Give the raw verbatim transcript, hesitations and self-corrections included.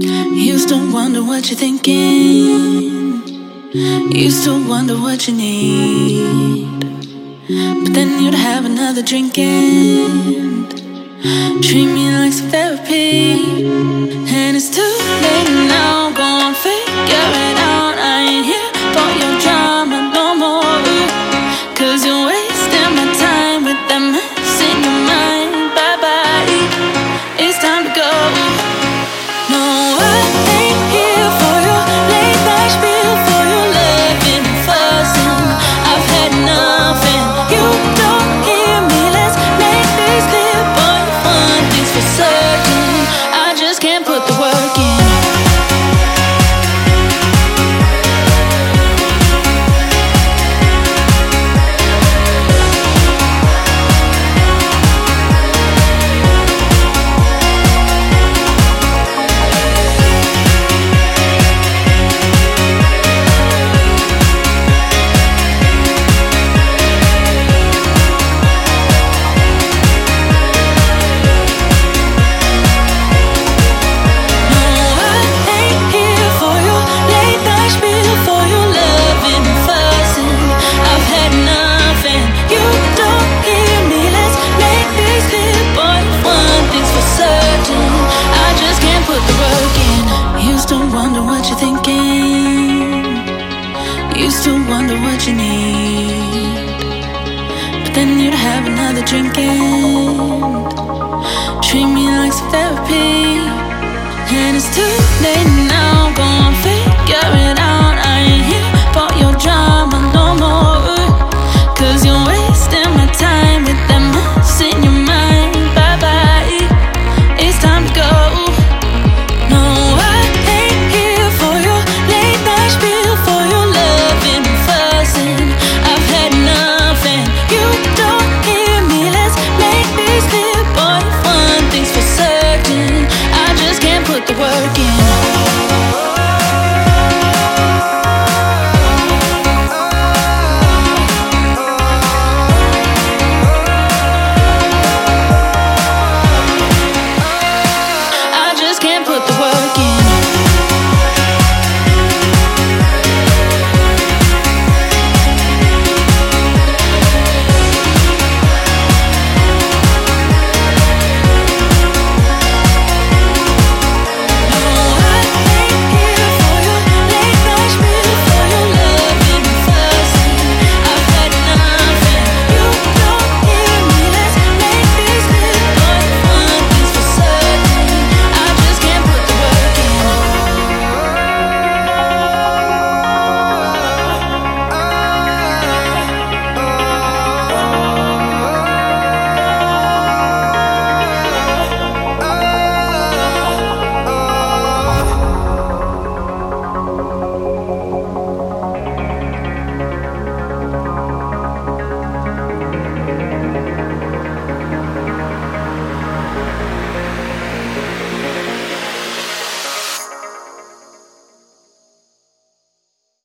Used to wonder what you're thinking. Used to wonder what you need. But then you'd have another drink and treat me like some therapy. And it's too late now, go and figure it out. I ain't here for your drama no more. Cause you're wasting my time with that mess in your mind. Bye bye, it's time to go. No, I ain't here for your late night spiel, for your loving and fussing. I've had enough and you don't hear me. Let's make this clear, boy, one thing's for certain, I just can't put the work in. Used to wonder what you need. But then you'd have another drink and treat me like some therapy. And it's too late now, go and figure it out. I ain't here for your drama no more. Cause you're wasting my time with that mess in your mind. Bye bye, it's time to go. No, I ain't here for your late night spiel, for your loving and fussing. I've had enough and you don't hear me. Let's make this clear, boy, one thing's for certain, I just can't put the work in.